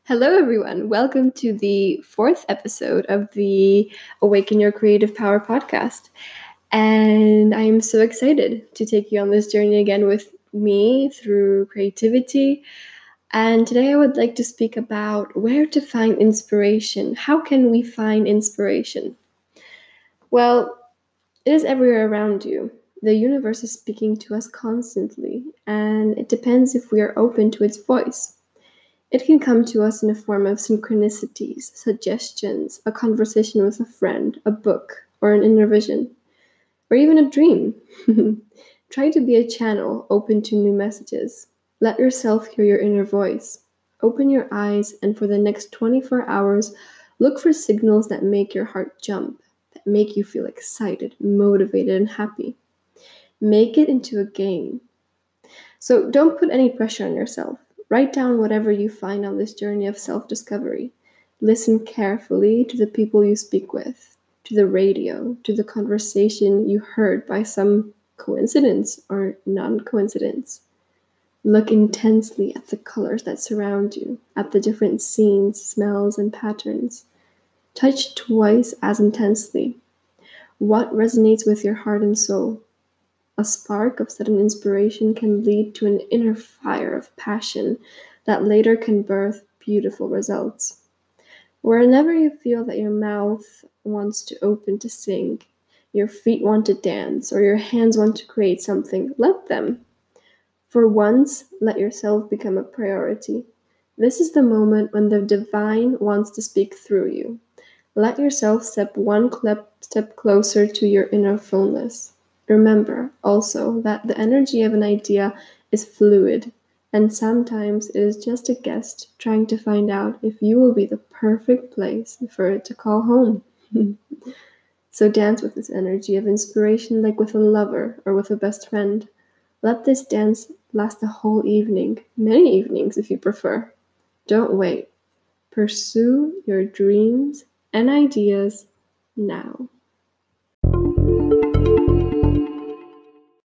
Hello, everyone. Welcome to the fourth episode of the Awaken Your Creative Power podcast. And I am so excited to take you on this journey again with me through creativity. And today I would like to speak about where to find inspiration. How can we find inspiration? Well, it is everywhere around you. The universe is speaking to us constantly, and it depends if we are open to its voice. It can come to us in the form of synchronicities, suggestions, a conversation with a friend, a book, or an inner vision, or even a dream. Try to be a channel open to new messages. Let yourself hear your inner voice. Open your eyes, and for the next 24 hours, look for signals that make your heart jump, that make you feel excited, motivated, and happy. Make it into a game. So don't put any pressure on yourself. Write down whatever you find on this journey of self-discovery. Listen carefully to the people you speak with, to the radio, to the conversation you heard by some coincidence or non-coincidence. Look intensely at the colors that surround you, at the different scenes, smells, and patterns. Touch twice as intensely. What resonates with your heart and soul? A spark of sudden inspiration can lead to an inner fire of passion that later can birth beautiful results. Whenever you feel that your mouth wants to open to sing, your feet want to dance, or your hands want to create something, let them. For once, let yourself become a priority. This is the moment when the divine wants to speak through you. Let yourself step one step closer to your inner fullness. Remember also that the energy of an idea is fluid, and sometimes it is just a guest trying to find out if you will be the perfect place for it to call home. So dance with this energy of inspiration like with a lover or with a best friend. Let this dance last the whole evening, many evenings if you prefer. Don't wait. Pursue your dreams and ideas now.